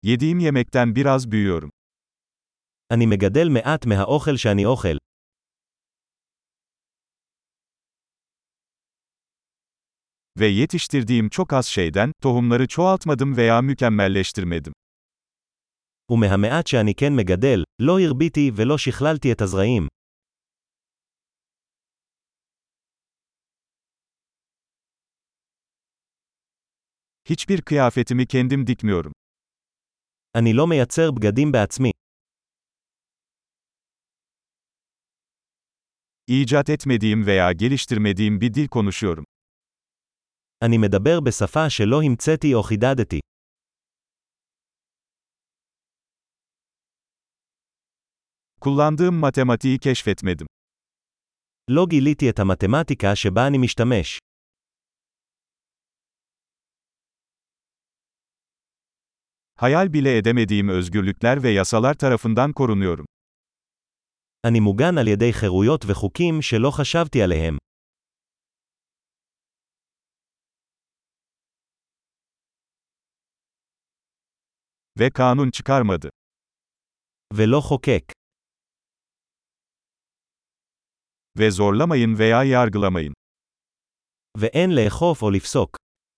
Yediğim yemekten biraz büyüyorum. אני מגדל מעט מהאוכל שאני אוכל. Ve yetiştirdiğim çok az şeyden, tohumları çoğaltmadım veya mükemmelleştirmedim. ומהמעט שאני כן מגדל, לא הרביתי ולא שכללתי את הזרעים. Hiçbir kıyafetimi kendim dikmiyorum. אני לא מייצר בגדים בעצמי. İcat etmediğim veya geliştirmediğim bir dil konuşuyorum. אני מדבר בשפה שלא המצאתי או חידדתי. Kullandığım matematiği keşfetmedim. לא גיליתי את המתמטיקה שבה אני משתמש. Hayal bile edemediğim özgürlükler ve yasalar tarafından korunuyorum. אני מוגן על ידי חירויות וחוקים שלא חשבתי עליהם. Ve kanun çıkarmadı. ולא חוקק. Ve zorlamayın veya yargılamayın. ואין לאכוף או לפסוק.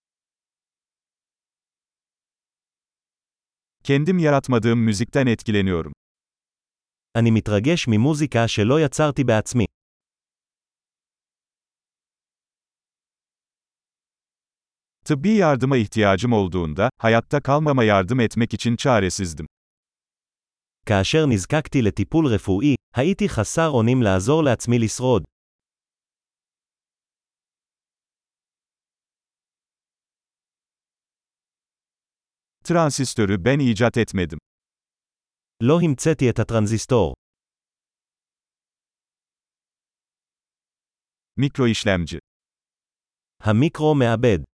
Kendim yaratmadığım müzikten etkileniyorum. אני מתרגש ממוזיקה שלא יצרתי בעצמי. Tıbbi yardıma ihtiyacım olduğunda, hayatta kalmama yardım etmek için çaresizdim. כאשר נזקקתי לטיפול רפואי, הייתי חסר אונים לעזור לעצמי לשרוד. Transistörü ben icat etmedim. לא המצאתי את הטרנזיסטור. Mikroişlemci. המיקרו מעבד.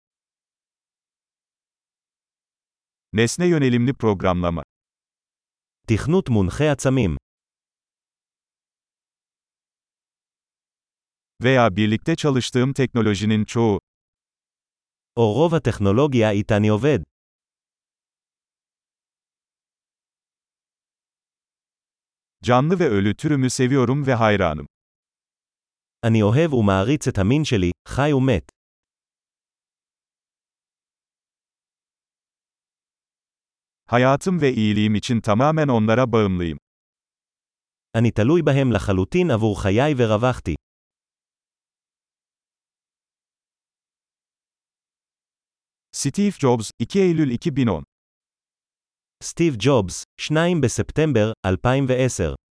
Nesne yönelimli programlama. תכנות מונחה עצמים. Veya birlikte çalıştığım teknolojinin çoğu. או רוב הטכנולוגיה איתה אני עובד. Canlı ve ölü türümü seviyorum ve hayranım. אני אוהב ומעריץ את המין שלי, חי ומת. Hayatım ve iyiliğim için tamamen onlara bağımlıyım. אני תלוי בהם לחלוטין עבור חיי ורווחתי. Steve Jobs, 2 Eylül 2010. סטיב ג'ובס, 2 בספטמבר, 2010